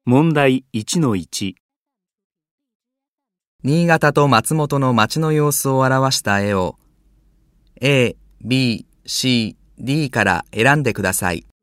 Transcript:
問題 1-1。 新潟と松本の街の様子を表した絵を A、B、C、D から選んでください。